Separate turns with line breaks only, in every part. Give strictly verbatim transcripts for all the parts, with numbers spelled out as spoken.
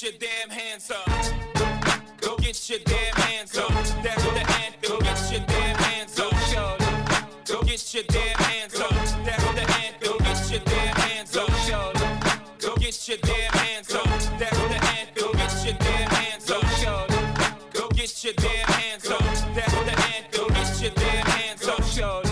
your damn hands up. Go get your damn hands up. That's the anthem. Get your damn hands up. Go get your damn hands up. That's the anthem. Get your damn hands up. Go get your damn hands up. That's the anthem. Get your damn hands up. Go get your damn hands up. That's the anthem. Get your damn hands up.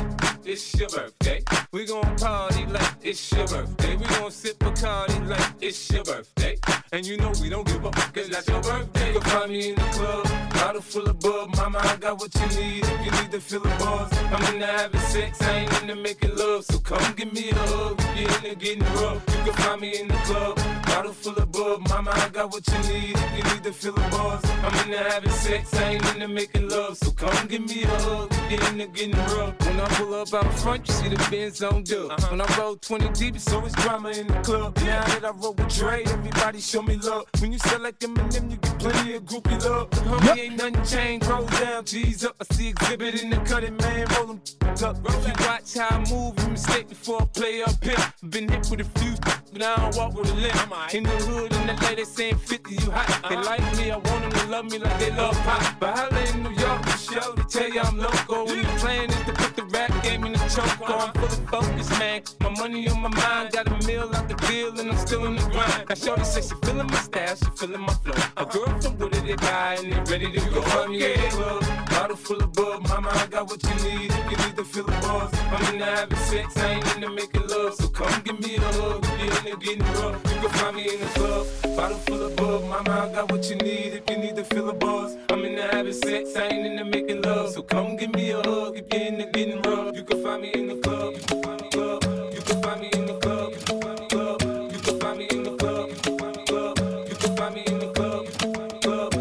It's your birthday. We gon' party like it's your birthday. We gon' sip Bacardi like it's your birthday. And you know we don't give up, cause that's your birthday. You can find me in the club, bottle full of bub. Mama, I got what you need if you need to fill the bars. I'm into having sex, I ain't into making love. So come give me a hug if you're into getting rough. You can find me in the club, bottle full of bub. Mama, I got what you need if you need to fill the bars. I'm into having sex, I ain't into making love. So come give me a hug if you're into getting rough. When I pull up out front, you see the Benz on dub. Uh-huh. When I roll twenty deep, it's always drama in the club. Now that I roll with Dre, everybody show me love. When you sell like Eminem, you get plenty of groupie love. Homie, yep. Ain't nothing changed. Roll down, G's up. I see exhibit in the cutting, man. Roll them up. If you watch how I move, you mistake before I play up here. Been hit with a few, but I don't walk with a limp. In the hood, in the L A, they saying fifty, you hot. Uh-huh. They like me, I want them to love me like they love pop. But holla in New York, the show, they tell you I'm loco. And the plan is to put the rap game in the choke on. I'm fully focused, man. My money on my mind, got a meal out the deal, and I'm still in the grind. Now shorty says she feeling my style, she feeling my flow. A girl from Wooded, they buy, and they ready to go. Find me in the club, bottle full of bub. Mama, I got what you need if you need to fill the bars. I'm into having sex, I ain't into making love. So come give me a hug if you're into getting rough. You can find me in the club, bottle full of bub. Mama, I got what you need if you need to fill the bars. I'm into having sex, I ain't into making love. So come give me a hug if you're into getting rough. You can find me in the club, you can find me club. You can find me in the club, you can find me club. You can find me in the club, you can find me club. You can find me in the club, you can find me club.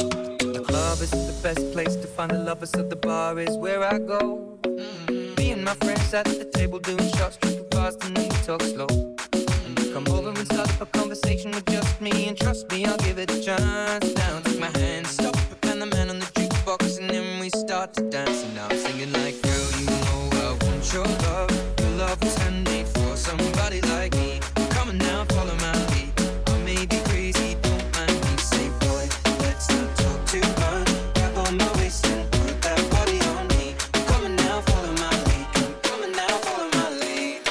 The club is the best place to find the lovers, so the bar is where I go. Mm-hmm. Me and my friends at the table doing shots, drinking fast, and then we talk slow. And you come over and start up a conversation with just me, and trust me, I'll give it a chance. Down, take my hand, stop, and the man on the jukebox, and then we start to dance. And now I'm singing like, girl, you know I want your love. Your love was handmade for somebody like me. Come on now, follow my lead. I may be crazy, don't mind me. Say, boy, let's not talk too much. Grab on my waist and put that body on me. Come on now, follow my lead. Come on now, follow my lead.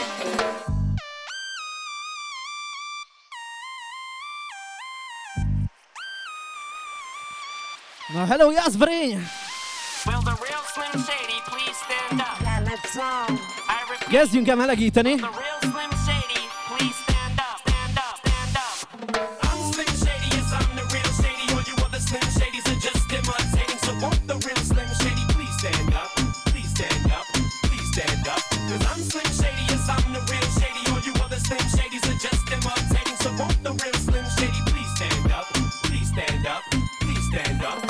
Na, hello, Jászberény!
Will the real Slim Shady please stand up? Yeah, let's go. I repeat.
Kezdjünk el melegíteni.
The real Slim Shady please stand up, stand up, stand up. I'm Slim Shady, yes I'm the real Shady. All you other Slim Shadys are just imitating. So won't the real Slim Shady please stand up, please stand up, please stand up. Cause I'm Slim Shady, yes I'm the real Shady. All you other Slim Shadys are just imitating. So won't the real Slim Shady please stand up, please stand up, please stand up.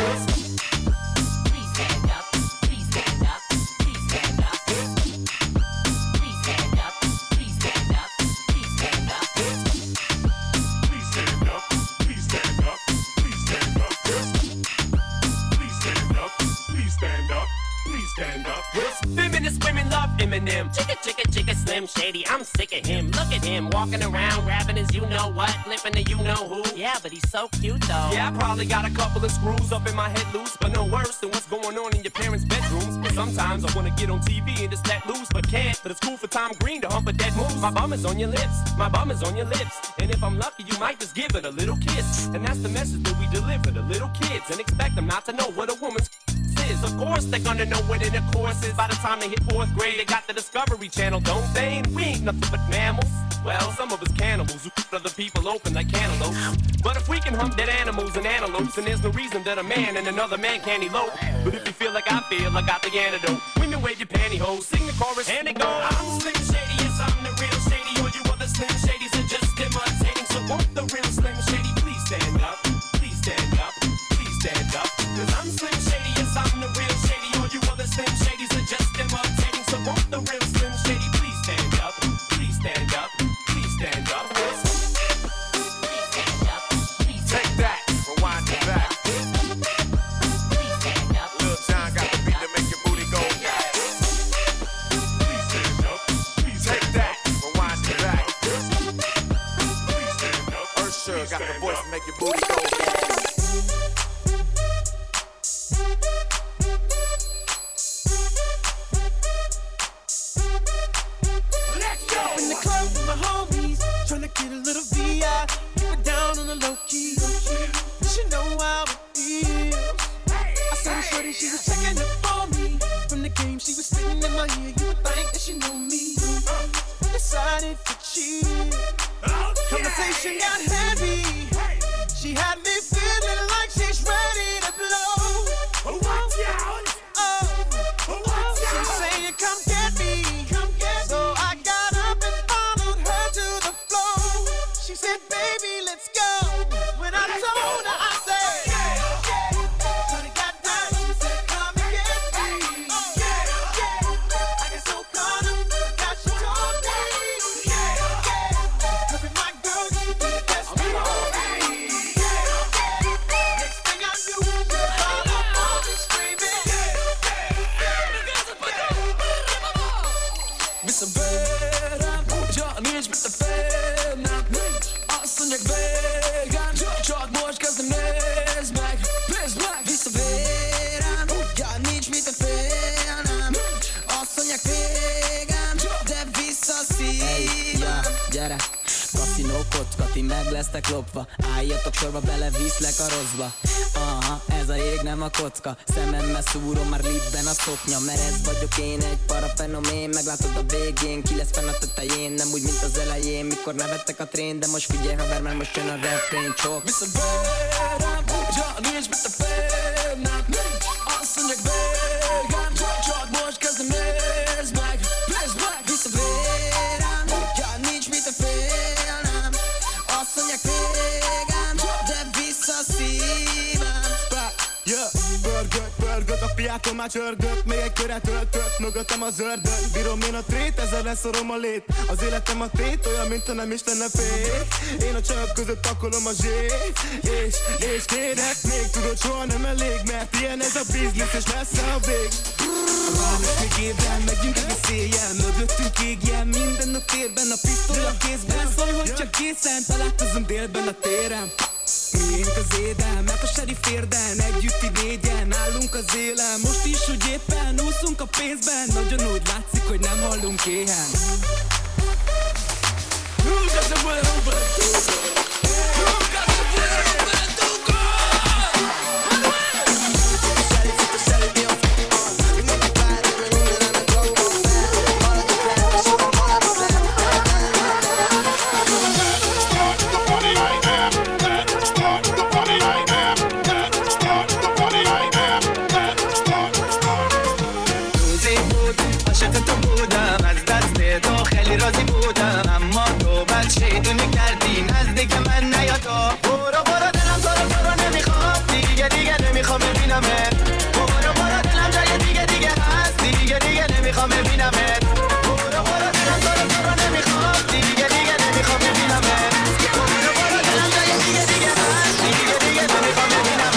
Feminist women love Eminem. Chicka, chicka, chicka, Slim Shady. I'm sick of him. Look at him walking around, grabbing his you know what, flipping the you know who. Yeah, but he's so cute though. Yeah, I probably got a couple of screws up in my head loose, but no worse than what's going on in your parents' bedrooms. But sometimes I wanna get on T V and just let loose, but can't. But it's cool for Tom Green to hump a dead moose. My bum is on your lips, my bum is on your lips, and if I'm lucky, you might just give it a little kiss. And that's the message that we deliver to little kids, and expect them not to know what a woman's is. Of course they're gonna know what in the course is. By the time they hit fourth grade, they got the Discovery Channel, don't they? We ain't nothing but mammals. Well, some of us cannibals who cut other people open like cantaloupes. But if we can hump dead animals and antelopes, then there's no reason that a man and another man can't elope. But if you feel like I feel, I got the antidote. Women wave your pantyhose, sing the chorus, and it goes. I'm Slim Shady, yes I'm the real Shady. All you other Slim Shadys are just imitating. So won't the real Slim Shady please stand up, please stand up, please stand up. Cause I'm Slim Shady, yes I'm the real Shady. All you other Slim Shadys are just imitating. So won't the real Slim Shady please stand up, please stand up, please stand up. Take that, rewind it back. Lil John got the beat to make your booty go. Please stand up,
I hear you think that she knew me. Decided to cheat. Conversation got heavy. She had me feeling like she's ready to blow. Watch out! Oh, she's saying, "Come get me." So I got up and followed her to the floor. She said, "Baby, let's go." When I told her, I said, "Yeah, yeah." When it got down, she said, "Come and get me." Yeah, yeah. I get so caught up, forgot she told me. Yeah, yeah. Cause my girl, she be the best me for me. Yeah, yeah. Next thing I knew, she all up on me screaming.
Vissza verem, csak nincs mit a félnem. Azt mondják végem, csak most kezdem, nézd meg, nézd meg. Vissza verem, ja, nincs mit a félnem. Azt mondják végem, de vissza a szívem. Gyere, kaszinó kocka, ti meg lesztek lopva. Álljatok sorba, beleviszlek a rosszba. Aha, ez a jég nem a kocka. Szememmel szúrom már libben a szoknya. Mert ez vagyok én, egy parafenomén. Meglátod a végén, ki lesz fenn a tetején. Nem úgy, mint az elején, mikor nevettek a trén. De most figyelj haver, mert most jön a refrén, csok. Visszaverem, ja, nincs mit a félnem. Azt mondják végem, csak most kezdem, nézd meg, nézd meg. Visszaverem, ja, nincs mit a félnem. Azt mondják végem, de vissza a szívem.
Yeah, pörgök, pörgök, a piától már csörgök. Még egy köret öltök, mögöttem az ördög. Bírom én a trét, ezzel leszorom a lét. Az életem a tét, olyan, mint ha nem is lenne fék. Én a csajok között pakolom a zsét. És, és kérek még, tudod, soha nem elég. Mert ilyen ez a biznisz, és messze a vég. Várnak még évvel, megyünk egész éjjel. Mögöttünk égjen, minden a térben. A pisztoly a kézben, szólj, hogy csak készen. Találkozunk délben a téren. Miénk az édel, mert a serif érden. Együtt így négyen, állunk az élen. Most is, hogy éppen úszunk a pénzben. Nagyon úgy látszik, hogy nem hallunk éhen.
راضی بودم اما تو بد شیطونی کردی نزدیک من نیا تو برو برو دلم تو رو تو رو نمیخواد دیگه دیگه نمیخوام ببینمت برو برو دلم جای دیگه دیگه هست دیگه دیگه نمیخوام ببینمت برو برو دلم تو رو تو رو نمیخواد دیگه دیگه نمیخوام ببینمت برو برو دلم جای دیگه دیگه هست دیگه دیگه نمیخوام ببینمت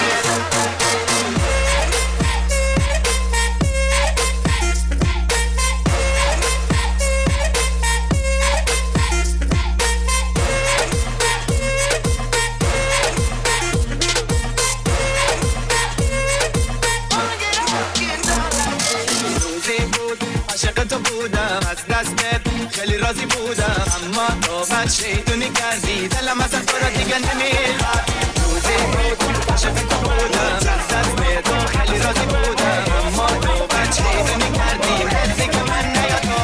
خیلی راضی بودم اما تو بد شیطونی کردی دلم اصلا تو را دیگه نمیخواد روزی بود عاشق تو بودم از دست به تو خیلی راضی بودم اما تو بد شیطونی کردی نزدیک من نیا تو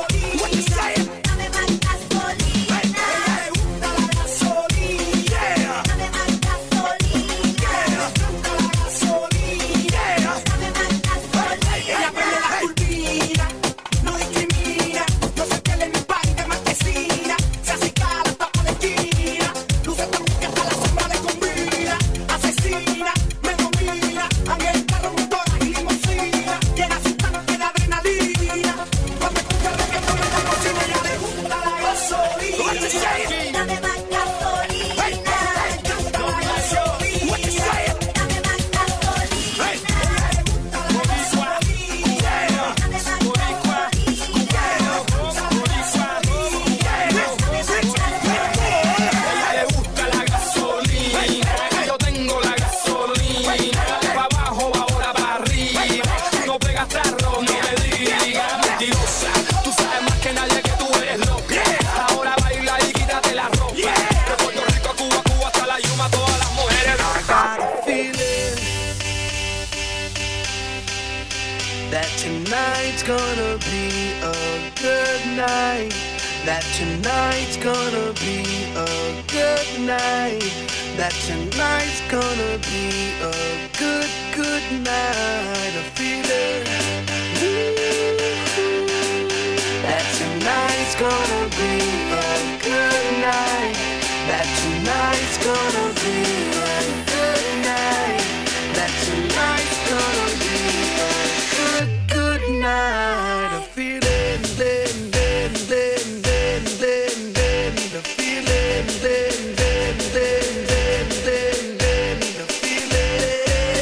Yeah! be a good night. That tonight's gonna be a good night. That tonight's gonna be a good, good night. I feel it. Ooh. That tonight's gonna be a good night. That tonight's gonna be a good night. That tonight's gonna be a good, good night. I feel it, then, then, then, then, then, then. The feeling, then, then, then, then, then, then. The feeling.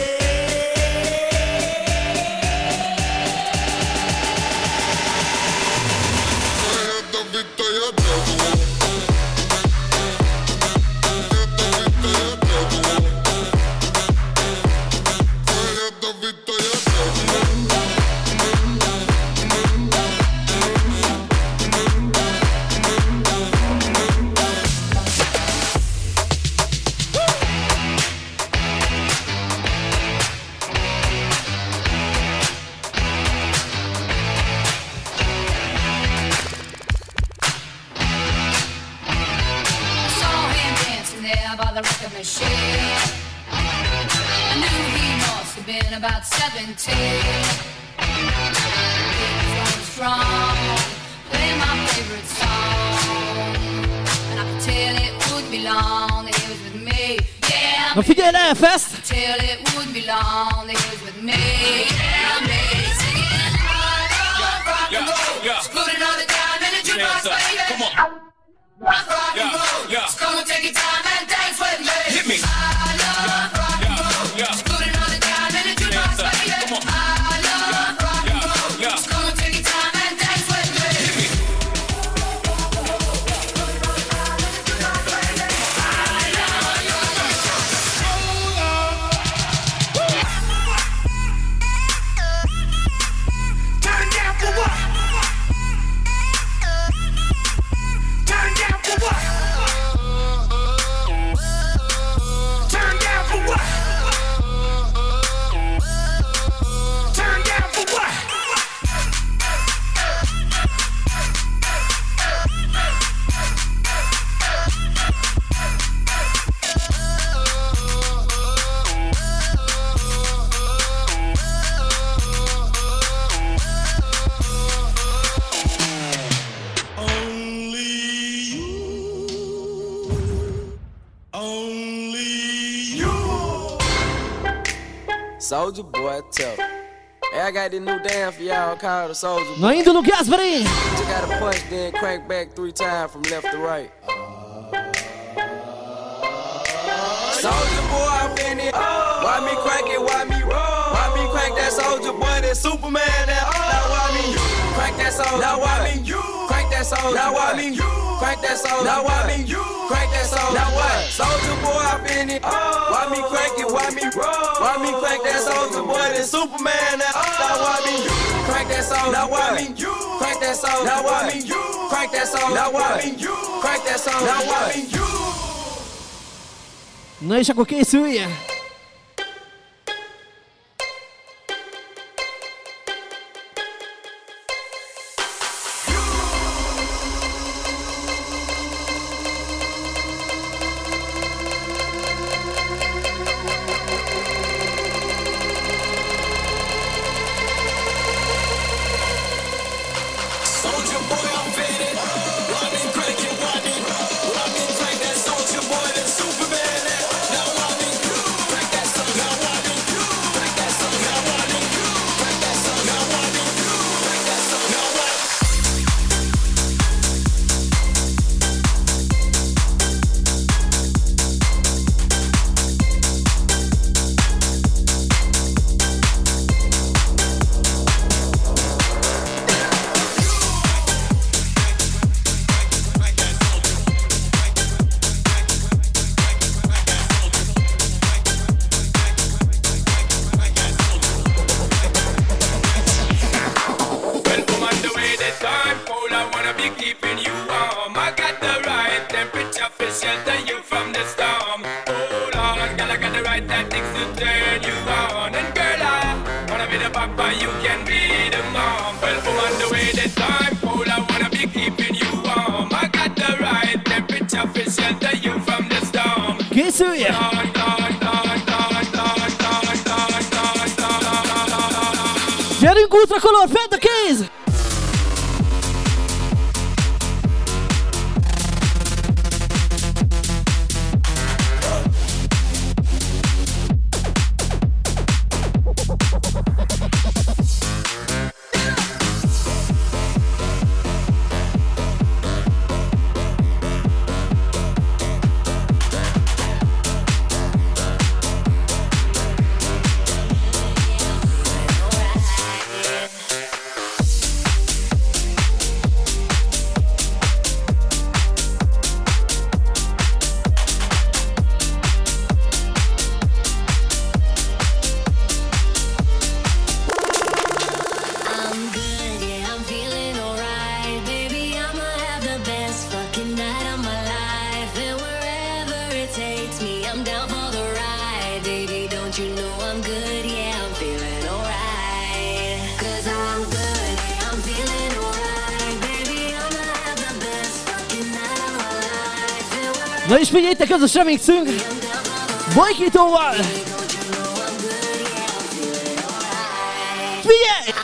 By the record machine, I knew he must have been about seventeen. He was going strong, playing my favorite song, and I could tell it would be long that he was with me. Yeah,
Ma figliela, fest!
I could tell it would be long that he was with me. Yeah, me singing rock and roll, just put another dime in the jukebox, baby. Come on. Rock, rock and roll, just come and take your time and dance with me.
Hit me.
I love rock and roll, just put another dime in the jukebox, baby. I love rock and roll, just come and take your time and dance with me. Hit me. Turn down for what? Turn down for what? Turn down for what? Turn down for what?
Soulja Boy, tell. Hey, I got this new dance for y'all called the Soulja Boy.
No indo no Gasparin!
You gotta punch, then crank back three times from left to right. Soulja Boy, I'm in it. Why me crank it? Why me roll? Why me crank that Soulja Boy? That Superman? That now why me crank that Soulja? Now why me crank that Soulja? Now why me crank that Soulja? Now why me crank that Soulja? Now what? Soulja Boy, I'm in it. Why me crank it? Why me roll? Why me crank that Soulja Boy? That Superman? That now why me crank that Soulja? Now why me crank that Soulja? Now why me crank that Soulja? Now why me crank that Soulja? Now why me
No és akkor készülje!
Papa, you can be the mom. Well, on the way time cold, I wanna be keeping you warm. I got the right temperature for shelter you from the storm.
Készülje! Gyerünk útra, Color, fent a kéz! Na és figyeljétek, ez a remixünk Bajkítóval! Figyelj!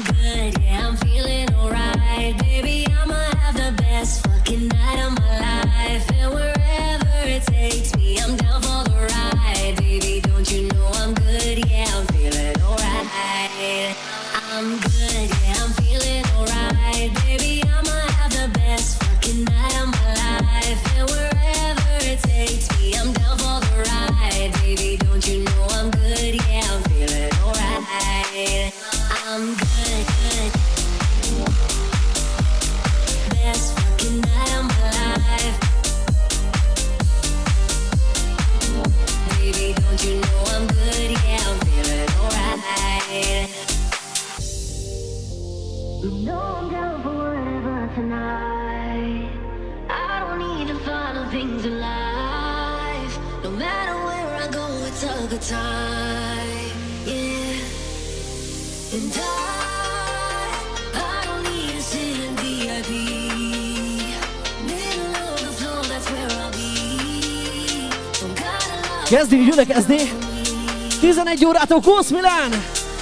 Kezdjük gyülekezni! tizenegy órától Kósz Milán!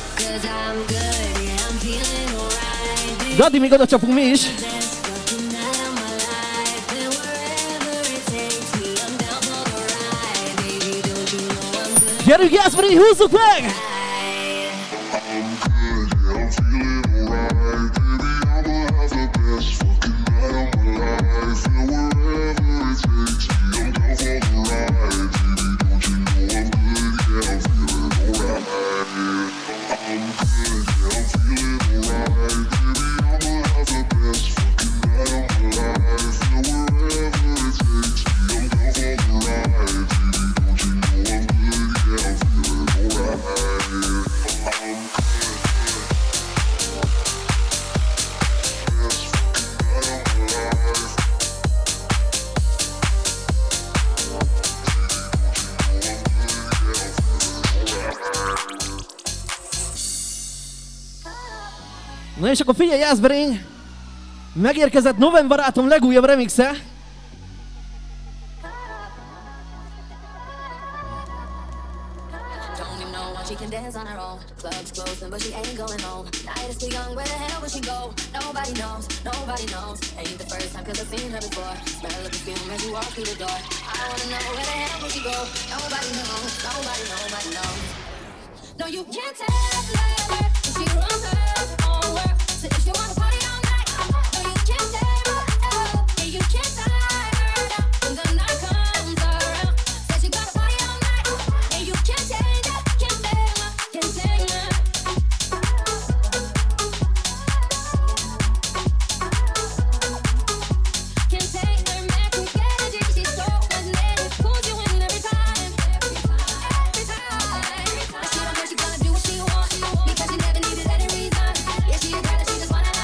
Gadi, még oda csapunk mi is! Gyerünk, Jászberény, húzzuk meg! Na és akkor figyelj, Jászberény! Megérkezett November barátom legújabb remixe.
No, you can't tell her if she runs her own world. So if you wanna party all night, no, you can't tell her. Yeah, you can't tie her down when the night comes around. Said she gotta party all night, and you can't change her, can't tame her, can't tame her. Can't take her magic energy, she's so magnetic, pulls you in every time, every time, every time. She don't know she gonna do what she wants because she never needed any reason. Yeah, she a girl and she just wanna have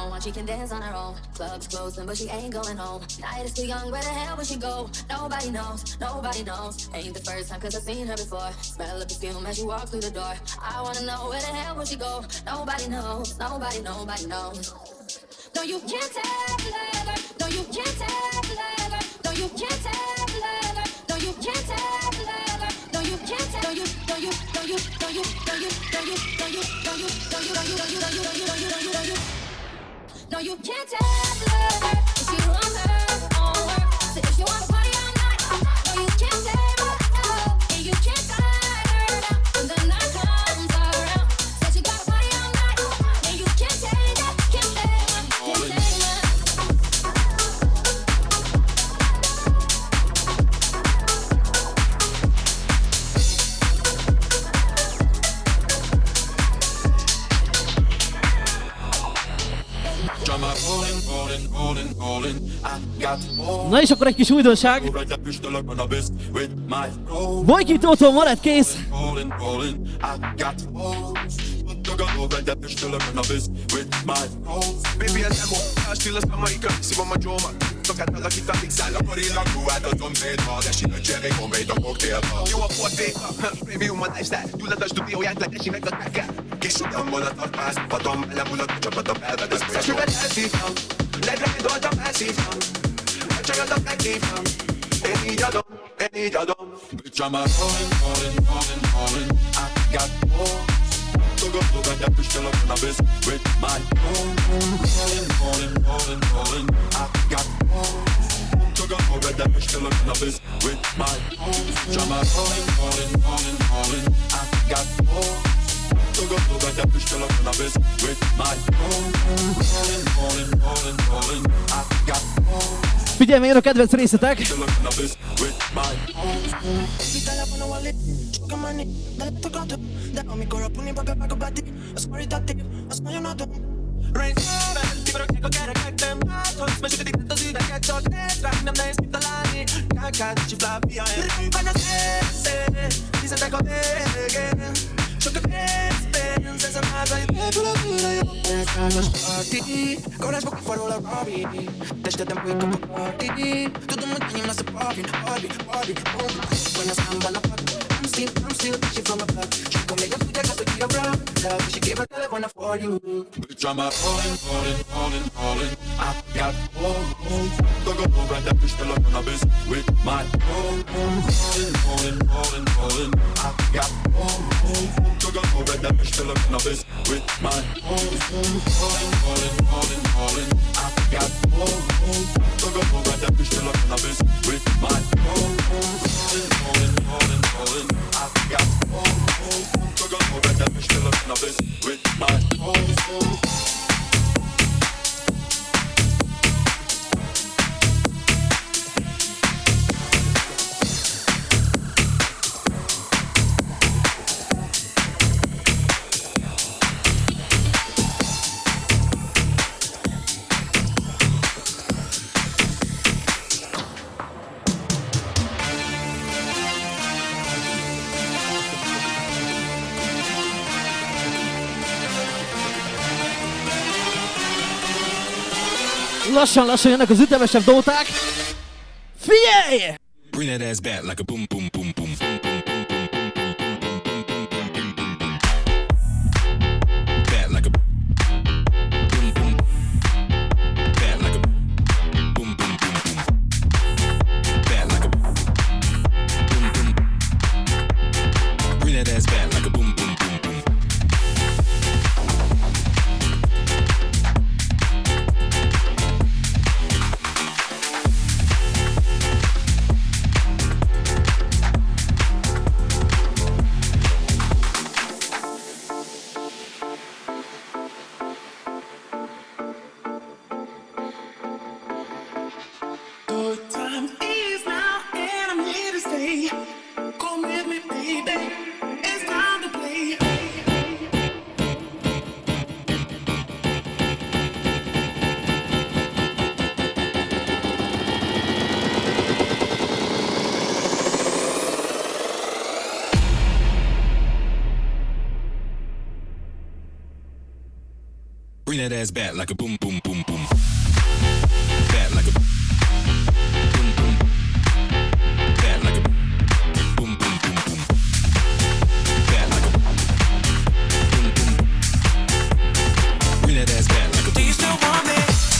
on, she can dance on her own. Club's closing, but she ain't going home. Night is too young, where the hell would she go? Nobody knows, nobody knows. Ain't the first time, cause I've seen her before. Smell the perfume as she walks through the door. I wanna know where the hell would she go? Nobody knows, nobody, nobody knows. No, you can't tell her. No, you can't tell her. No, you can't tell her. No, you can't tell her. No, you can't tell. No, you, no, you, no, you, no, you, no, you, no, you, no, you, no, you, no, you, no, you, no, you, no, you, no, you, no, you, no, you, no, you. No, you can't tell her if she runs her own work. So if you want to party all night, no, you can't tell her. And you can't tie her down when the night comes around. Said she got to party all night, and you can't take that, can't take that, can't take that.
Na és akkor egy kis újdonság. Vojki Tótól Marett kész.
Bitch, I'm a rolling, rolling, rolling, rolling. I got balls. Look up, look at that bitch still up in the biz with my balls. Rolling, rolling, rolling, rolling. I got balls. Look up, look at that bitch still up in the biz with my balls. Bitch, I'm a rolling, rolling, rolling, rolling. I got balls. Look up, look at that bitch still up in the biz with my balls. Rolling, rolling, rolling, rolling. I got balls.
Figyelj, jön a kedvenc részletek!
Coragem que farou la Barbie. Deixa de tempo e como party. Tudo muito bem, mas Barbie, Barbie, Barbie, boom. When I stand on the party, I'm still, I'm still she from a block. She come make a food, I got to get a bra. Love, she gave her telephone for you.
Bitch, I'm a rolling, rolling, rolling, rolling. I got balls. Look up, look at that bitch still up in the biz with my balls. Rolling, rolling, rolling, rolling. I got balls. Look up, look at that bitch still up in the biz with my balls. Rolling, rolling, rolling, rolling. I got balls. Look up, look at that bitch still up in the biz with my balls. Rolling, rolling, rolling, rolling. I got balls. Look up, look at that bitch still up in the biz with my balls.
Lassan-lassan jönnek az ütemesebb dóták. Figyelj!
Bring that ass back like a boom boom boom boom boom boom boom boom boom boom boom boom boom boom boom. Back like a boom boom. Back like a boom boom boom boom. Back like a boom boom. Bring that ass back like a boom boom boom boom. that ass back like a boom, boom, boom, boom. Back like a boom, boom. Back like a boom, boom, boom, boom. Back like a boom, boom. Bring that ass back like a boom.
Do you still want me?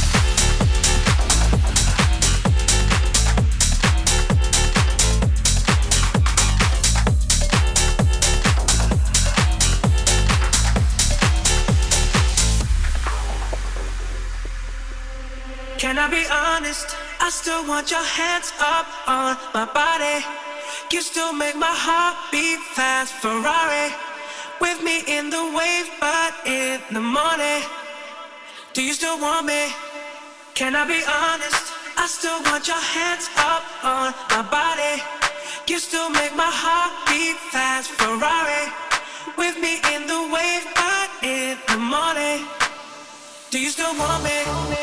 Can I be honest? I still want your hands up on my body. You still make my heart beat fast. Ferrari with me in the wave, but in the morning. Do you still want me? Can I be honest? I still want your hands up on my body. You still make my heart beat fast. Ferrari with me in the wave, but in the morning. Do you still want me?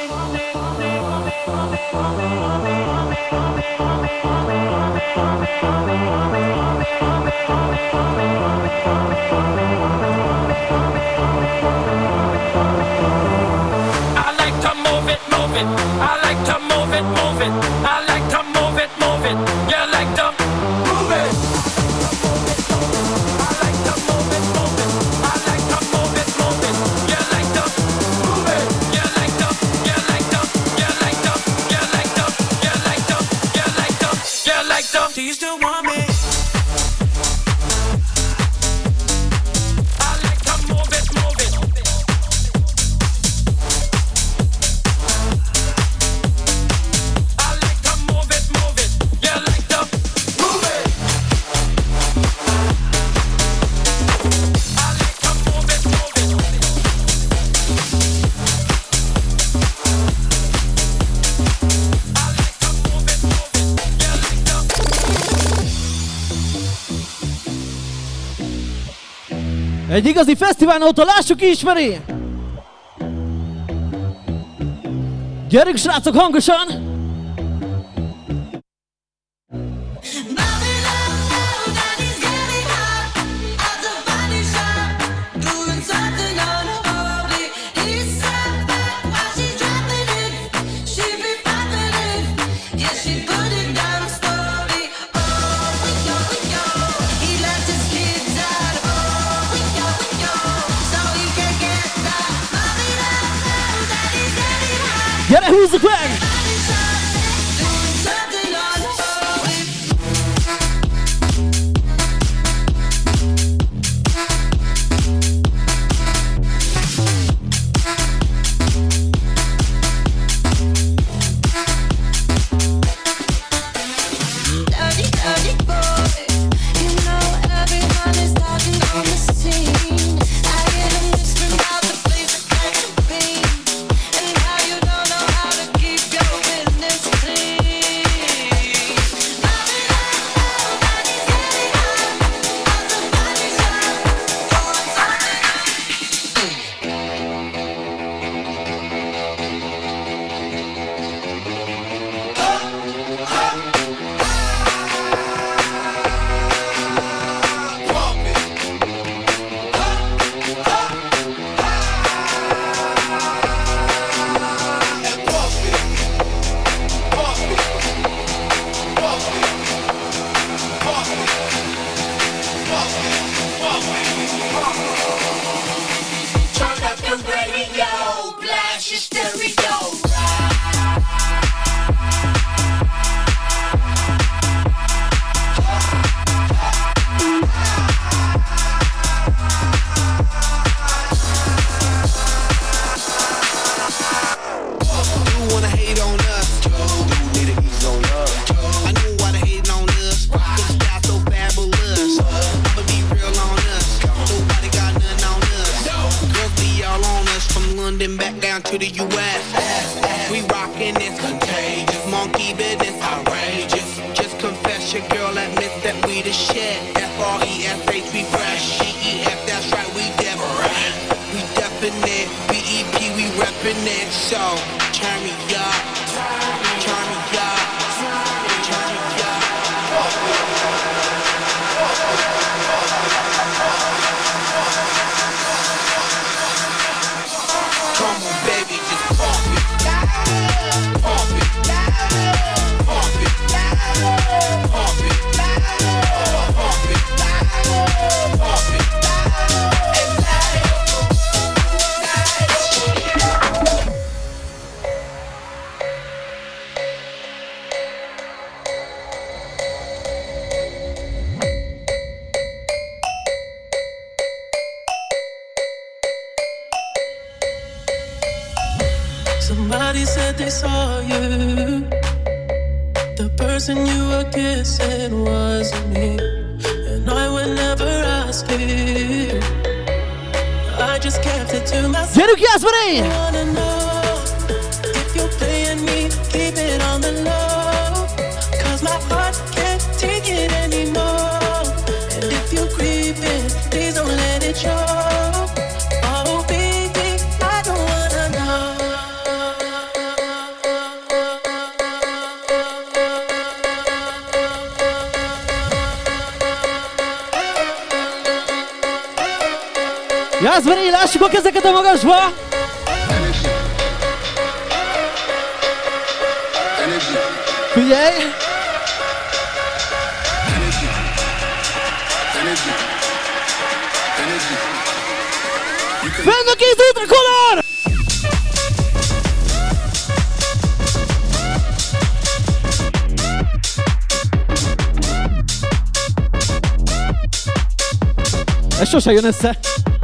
I like to move it, move it. I like to move it, move it. I like to move it, move it. You like to move it. I like to move it, move it. I like to move it, move it. You like to move it. You like to, you like to, you like to, you like to, you like to, you like to, you like to.
Do you still want me?
I like to move it, move it. I like to move it, move it. You like to move it. I like to move it, move it. I like to move it, move it. You like to.
Egy igazi fesztiválnótól lássuk ki ismeri! Gyerünk srácok hangosan! Gyere, húzzuk meg!
Come on.
Somebody said they saw you. The person you were kissing wasn't me, and I would never ask you. I just kept it to myself.
Gyerünk játszani!
I wanna know if you're playing me, keep it on the low, 'cause my heart can't take it anymore. And if you're creeping, please don't let it show. Oh baby, I don't wanna know.
Jászberi, lássuk a kezeket a magasba! Figyelj! Fenn a kéz útrakolor! Ez sose jön össze.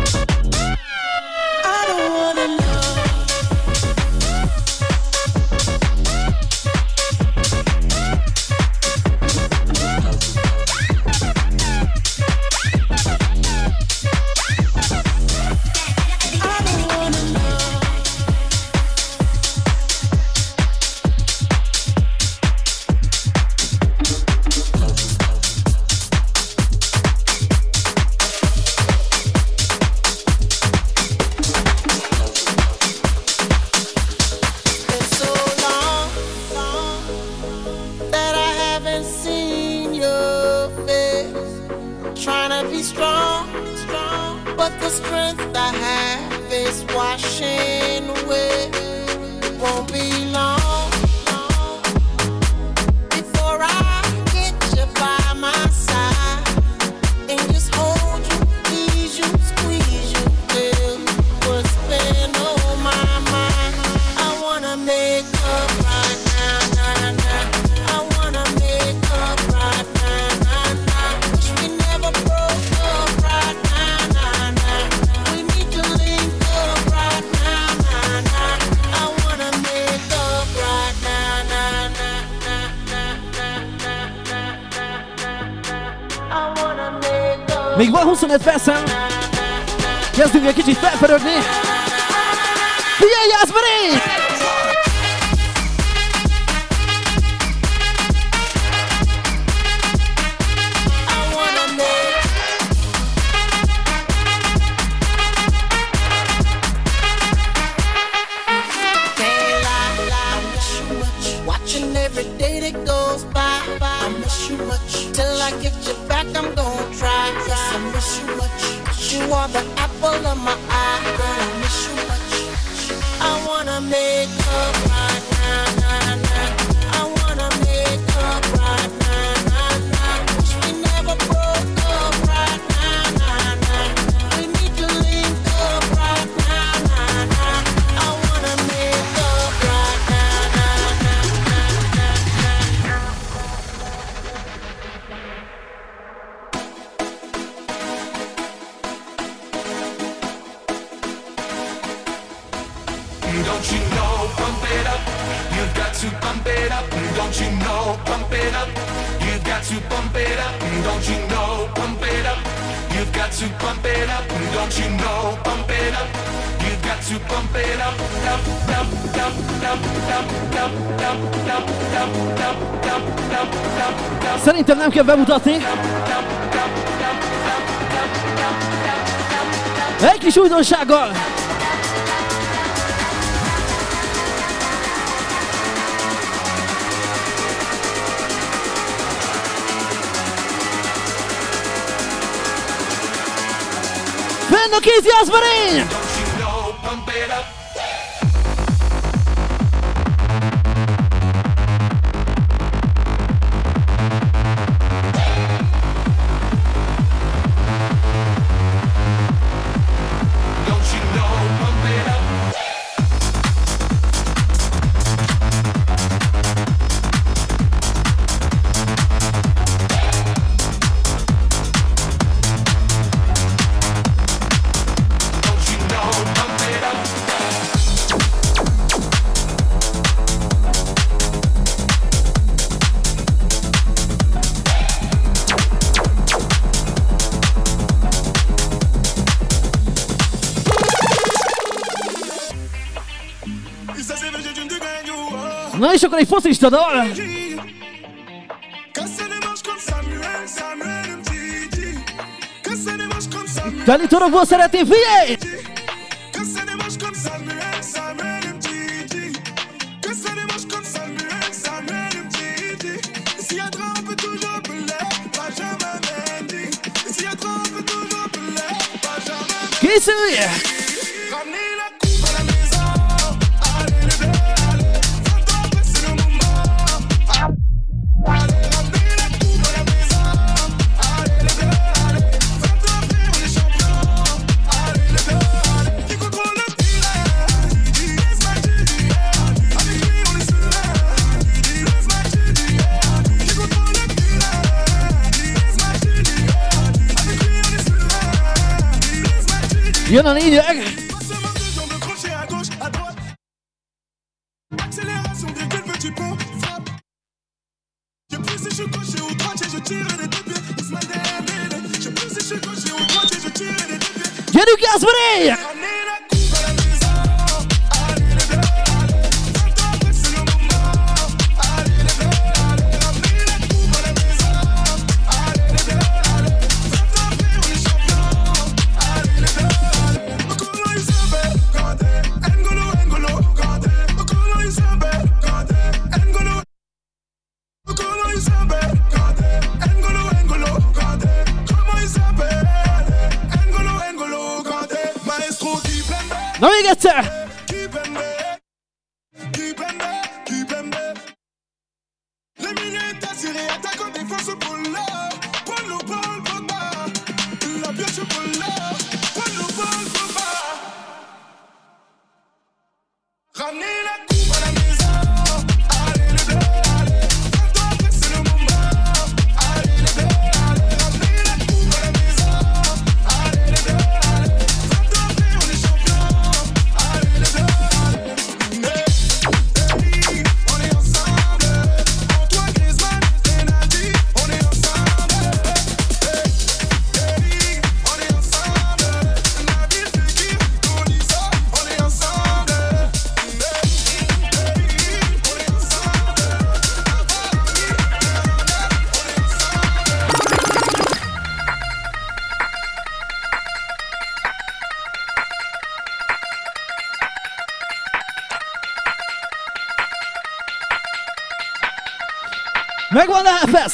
Még van huszonöt percem. Kezdünk egy kicsit felpörögni. Figyelj, Jászberi!
Don't you know, pump it up, you've got to pump it up. Don't you know, pump it up, you've got to pump it up. Don't you know, pump it up, you've got to pump it up. Don't you know, pump it up, you've got to pump it up. Up, up, up, up, up, up, up, up, up, up, up, up, up.
Szerintem nem kell bemutatni. Egy kis újdonsággal. Fenn a kéz, Jászberi! Na és akkor egy focista dal. Dani Torokból szeretném, figyelj! Készülj! Jön a lényeg! Gyerünk, Jászberé! Na még egyszer! Megvan a fest!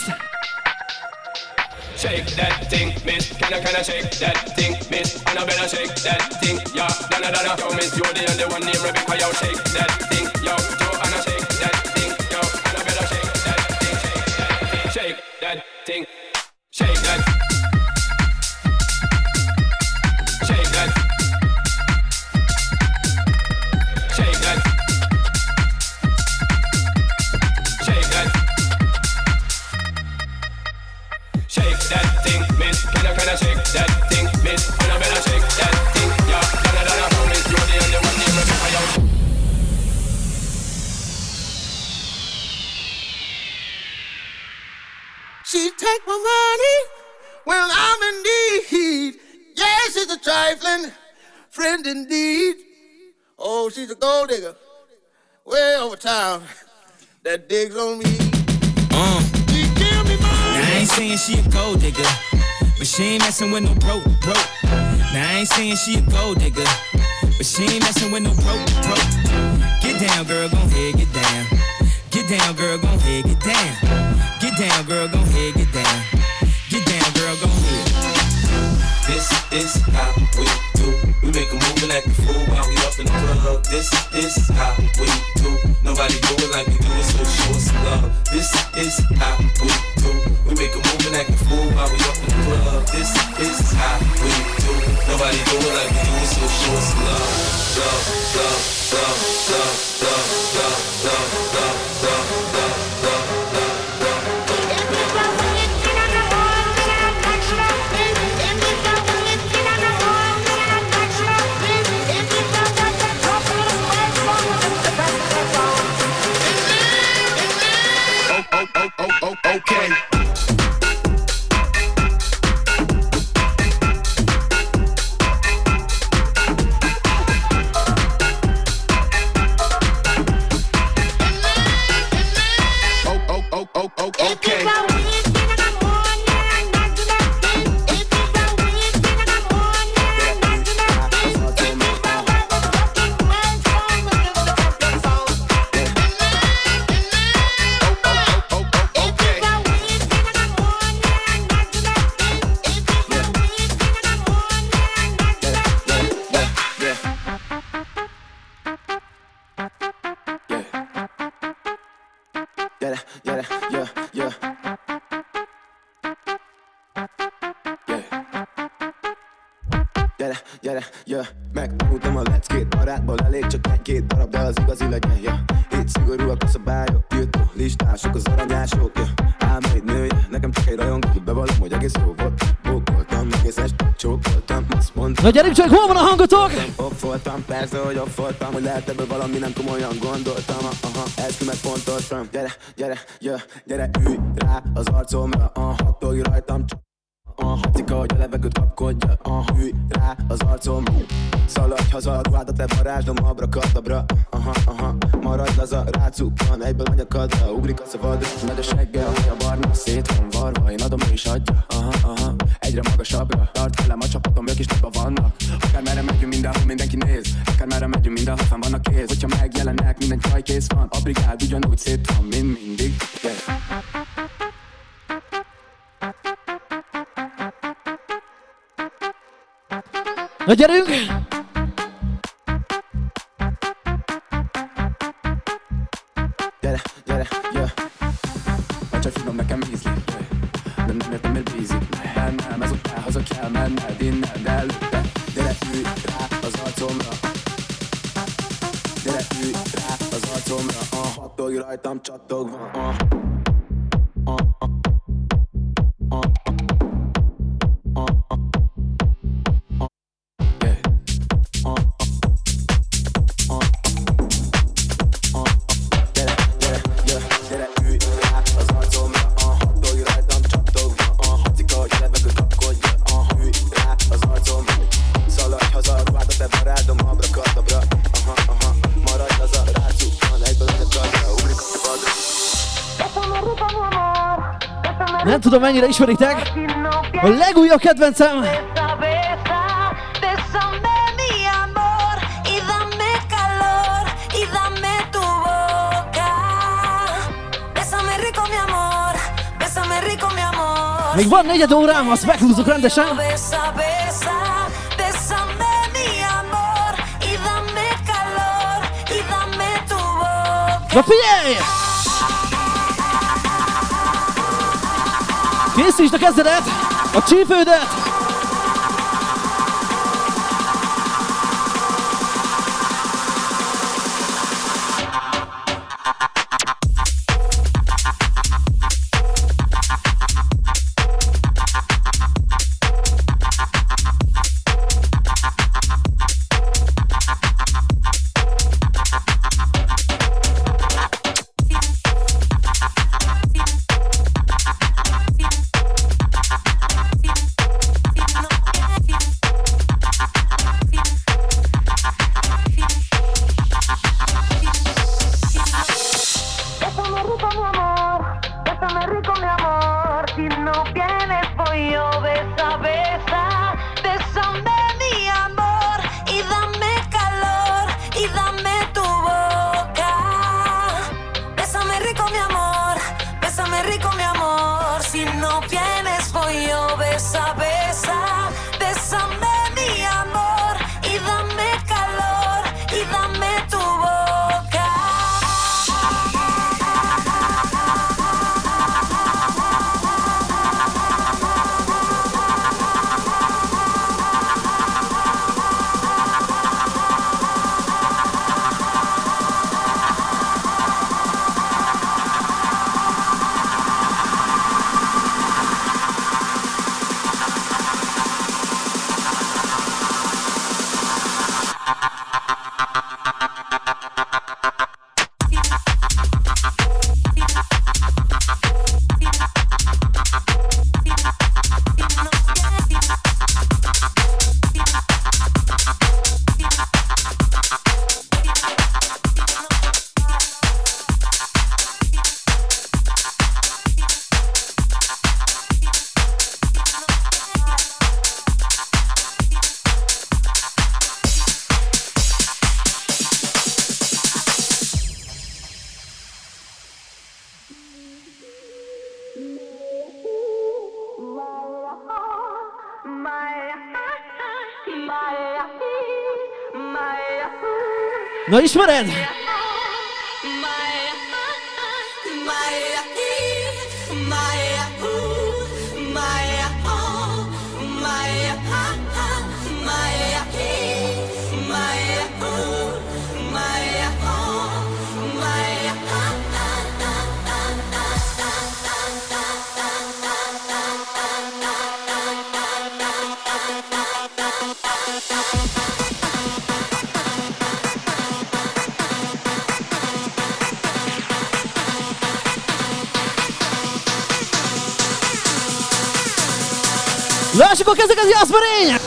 Shake that thing, miss. Can I, can I shake that thing, miss? And I better shake that thing, yeah. Donna, Donna, yo, miss, you're the only one named Rebecca, yo. Shake that thing, yo. Joanna, shake that thing, yo. And I better shake that thing, shake that thing, shake that thing, shake that, shake that, shake that, shake that thing, miss. Can I, can I shake that thing, miss? And I better shake that thing, yeah. Donna, Donna, yo, miss, you're the only one named Rebecca, yo.
She take my money when I'm in need. Yeah, she's a trifling friend indeed. Oh, she's a gold digger way over town that digs on me.
Uh. Now I ain't saying she a gold digger, but she ain't messing with no broke, broke. Now I ain't saying she a gold digger, but she ain't messing with no broke, broke. Get down, girl, gon' head, get down. Get down, girl, gon' head, get down. Get down, girl, gon' head, get down. Get down, girl, gon' head.
This is how we do. We make a move and act a fool while we up in the club. This is how we do. Nobody do it like we do it, so show us some love. This is how we do. We make a move and act a fool while we up in the club. This is how we do. Nobody do it like we do it, so show us some love. Love, love, love, love, love, love, love, love, love, love, love, love.
Oh, oh, oh, oh, okay.
Gyere, gyere, jö, megtanultam a leckét. Barátból elég csak egy-két darab, de az igazi legyen, ja. Itt szigorúak a szabályok, tiltó listások, az aranyások, ja. Ám egy nője, nekem csak egy rajongó, bevallom, hogy egész jó volt. Bókoltam, egész este csókoltam, azt mondtam.
Na gyerünk csak, hol van a hangotok?
Off voltam, persze, hogy off voltam, hogy lehet ebből valami, nem komolyan gondoltam. Aha, eskü meg fontoltam. Gyere, gyere, jö, gyere, ülj rá az arcomra, aha, tolj rajtam csak. Aha, cika, hogy a levegőt kapkodja, aha, ülj rá az arcomra. Szaladj haza, a ruhádat levarázslom, abrakadabra. Aha, aha, maradj laza, rácuppan, egyből anyakadra. Ugrik a szabadra, megy a segge, a haja barna. Szét van varva, én adom, ő is adja. Aha, aha, egyre magasabbra. Tart velem a csapatom, ők is nagyban vannak. Akár merre megyünk, mindenhol mindenki néz. Akár merre megyünk, mindenhol fenn vannak kéz. Hogyha megjelennek, minden csaj kész van. A brigád ugyanúgy szét van, mint mindig, yeah.
Na gyerünk!
Gyere, gyere, jö. A csaj finom nekem ízlik, de nem értem, miért bízik bennem. Ezután haza kell menned innen, de előtte. Gyere, ülj rá az arcomra. Gyere, ülj rá az arcomra. Aha, tolj rajtam csattogva. Aha.
Nem tudom, mennyire ismeritek a legújabb kedvencem. Még van negyed órám, azt meghúzzuk rendesen. Na figyelj! Készítsd a kezedet, a csípődet! Na ismered? Lássuk a kezeket, Jászberény!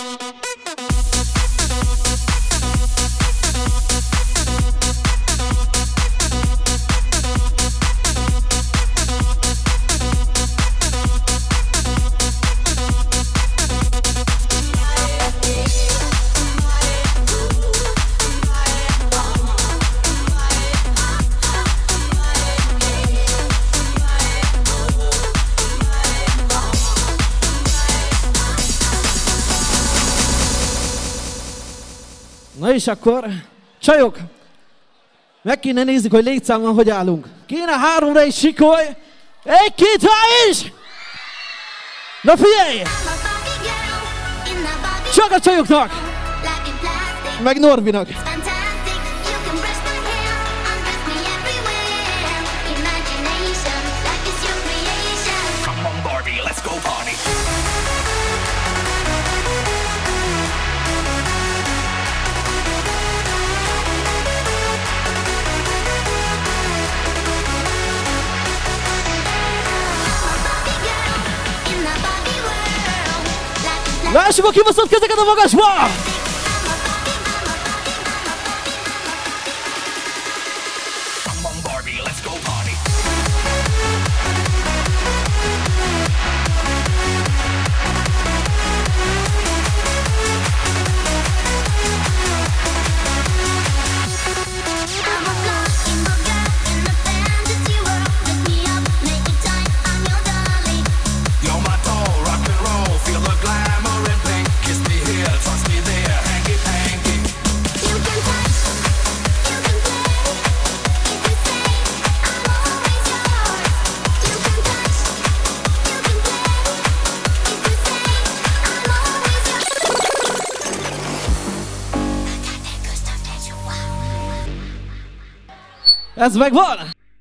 Na és akkor, csajok, meg kéne nézzük, hogy létszámban hogy állunk. Kéne háromra is sikolj, egy-két, há is! Na figyelj! Csak a csajoknak! Meg Norbinak!
Come on, Barbie, let's go party.
Lássuk a kibaszott kezeket a magasba!
Come on, Barbie, let's go party. You're my doll, rock and roll, feel the glamour and pink. Kiss me here, touch me there, hanky panky. You can touch, you can play. If you say I'm always yours. You can touch, you can play. If you say I'm always yours.
Ez megvan!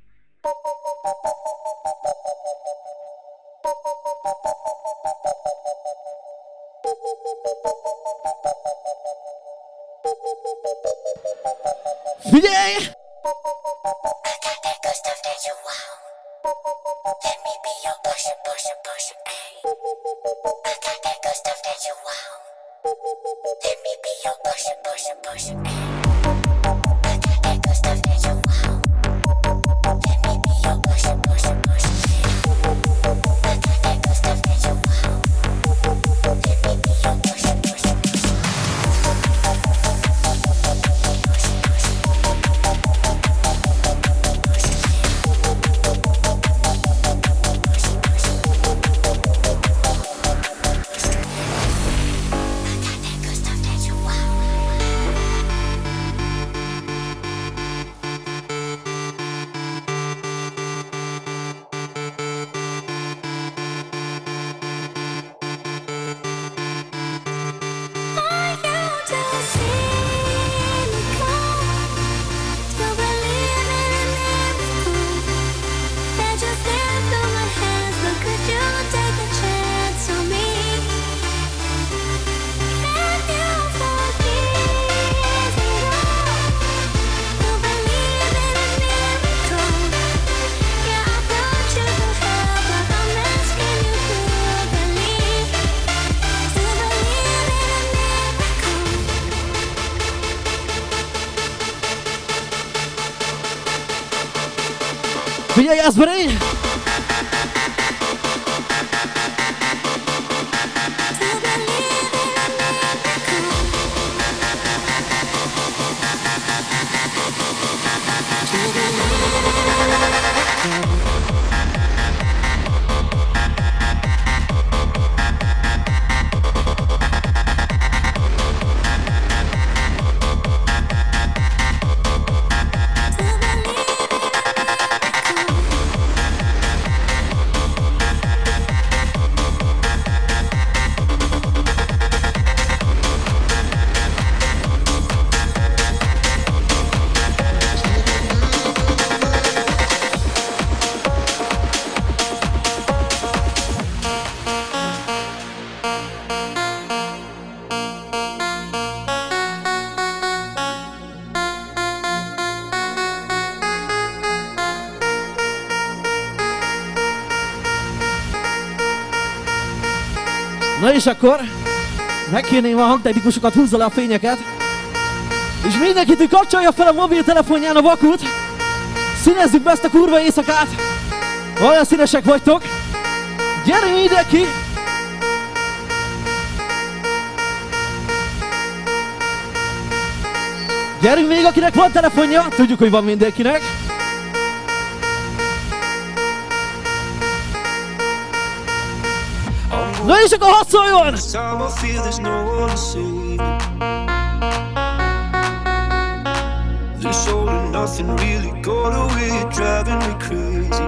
Figyelj! Figyelj, Jászberény! Na és akkor megkérném a hangtechnikusokat, húzza le a fényeket. És mindenkit, hogy kapcsolja fel a mobiltelefonján a vakut. Színezzük be ezt a kurva éjszakát. Olyan színesek vagytok. Gyerünk mindenki! Gyerünk még, akinek van telefonja. Tudjuk, hogy van mindenkinek. Na és akkor hadd szóljon!
This all and nothing really got away, driving me crazy.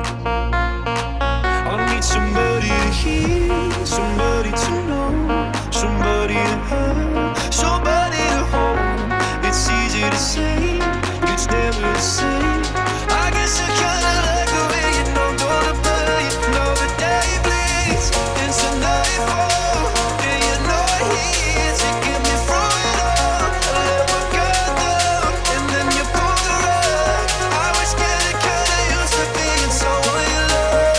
I need somebody to hear, somebody to know, somebody to have, somebody to hold. It's easy to say, it's never the same. I guess I kinda like the way you know, gonna play, know the day bleeds into nightfall, and you're not here to get me through it all. I let my guard down, and then you pulled the rug. I was getting kinda used to being someone you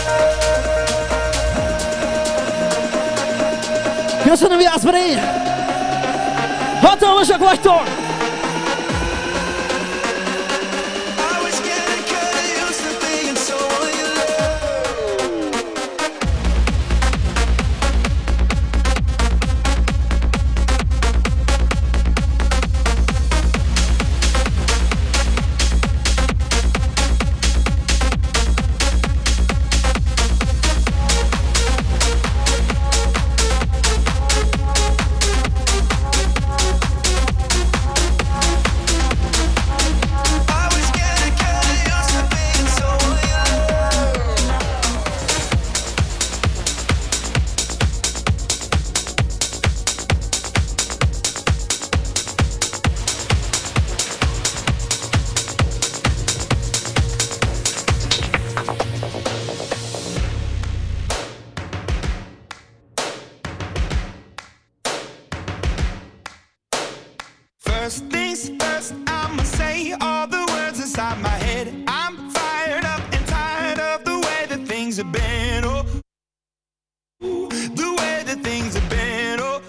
love.
Köszönöm, Jászberény! Hatalmasak vagytok!
First things first, I'ma say all the words inside my head. I'm fired up and tired of the way that things have been. Oh, the way that things have been. Oh,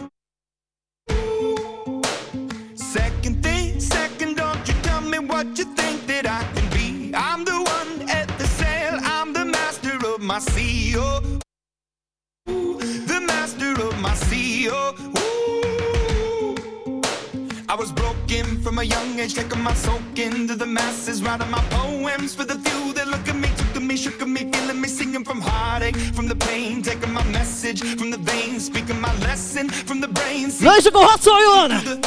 second thing, second, don't you tell me what you think that I can be. I'm the one at the sail, I'm the master of my sea. Oh, the master of my sea. Oh, I was broken from a young age, taking my soak into the masses, writing my poems for the few that look at me, took to me, shook at me, feeling me, singing from heartache, from the pain, taking my message from the veins, speaking my lesson from the brain.
Na és akkor hadd szóljon!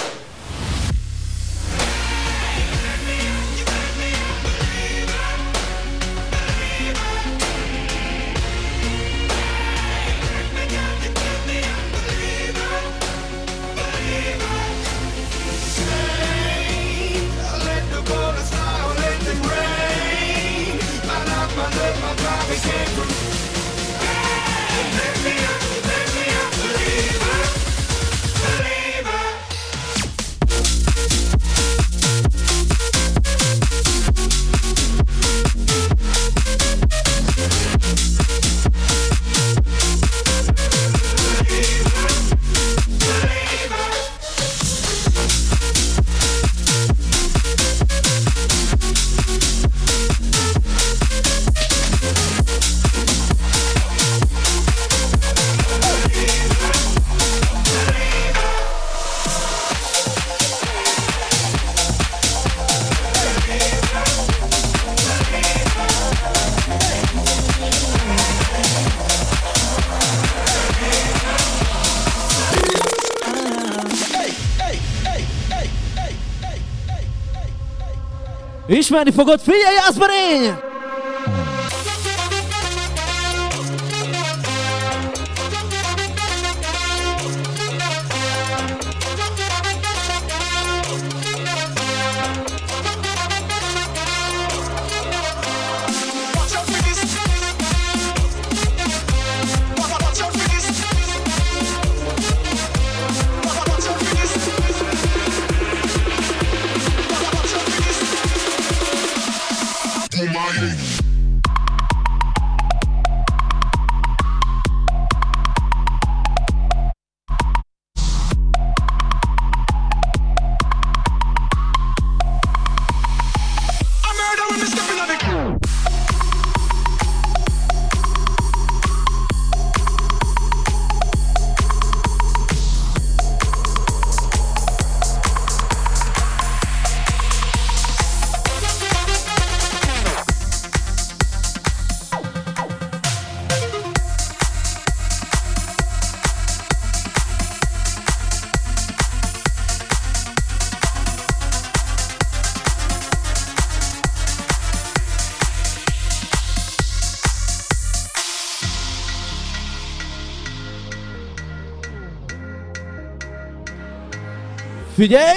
Ismerni fogod, figyelj, Jászberény!
My
Figyelj!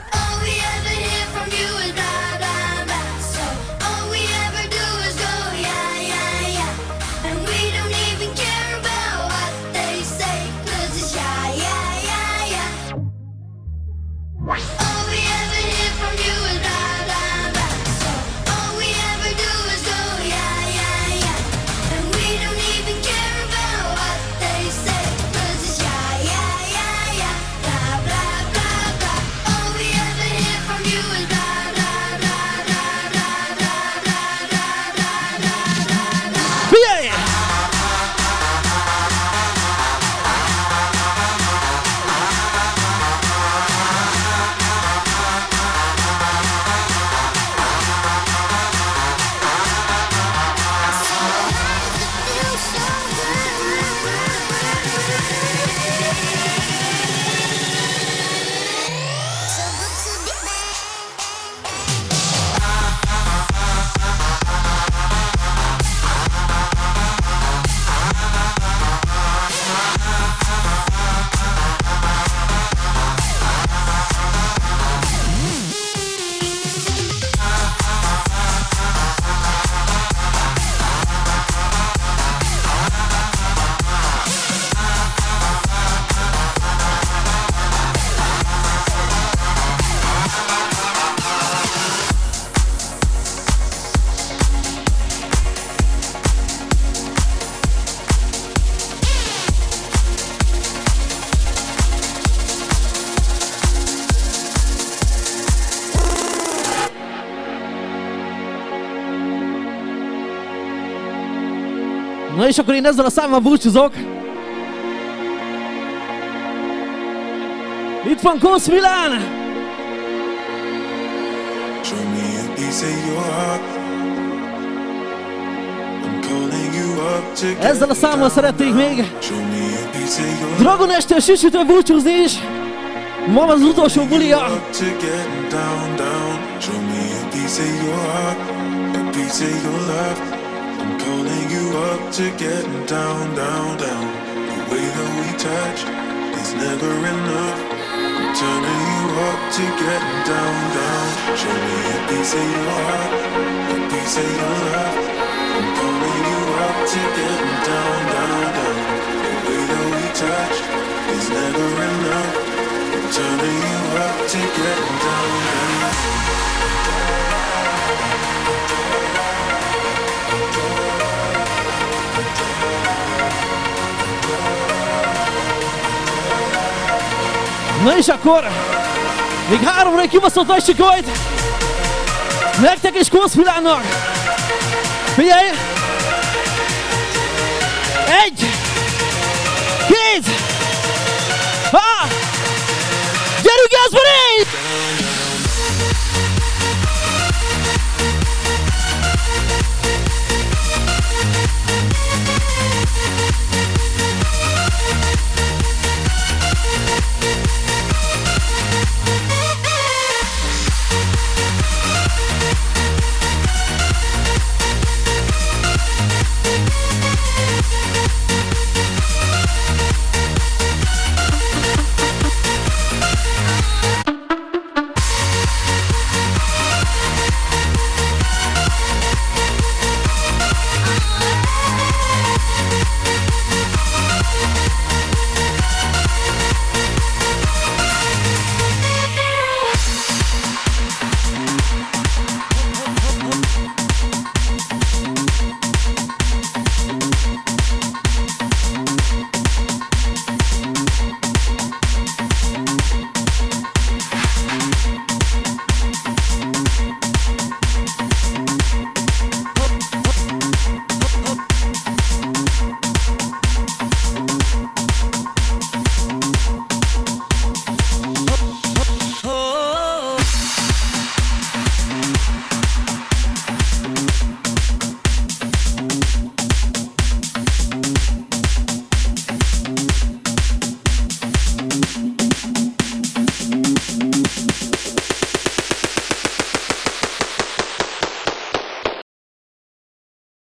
Na és akkor én ezzel a számmal búcsúzok. Itt van Kosz Milán!
Show me a piece of your heart. I'm calling you up to get
Ezzel a számmal szeretnék még
Show me a piece of your
Dragon Estől süsütől búcsúzni is. Ma van az utolsó bulia.
up to getting down, down. Show me a piece of your heart, a piece of your love. I'm calling you up to getting down, down, down. The way that we touch is never enough. I'm turning you up to getting down, down. Show me a piece of your heart, a piece of your love. I'm calling you up to getting down, down, down. The way that we touch is never enough. I'm turning you up to getting down, down.
Na és akkor még háromra egy kibaszott nagy sikolyt nektek és Kosz Milánnak. Figyelj! Egy! Két! Há! Gyerünk, Jászberény!